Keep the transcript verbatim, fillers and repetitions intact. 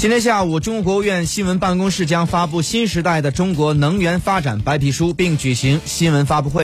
今天下午，中国国务院新闻办公室将发布新时代的中国能源发展白皮书，并举行新闻发布会。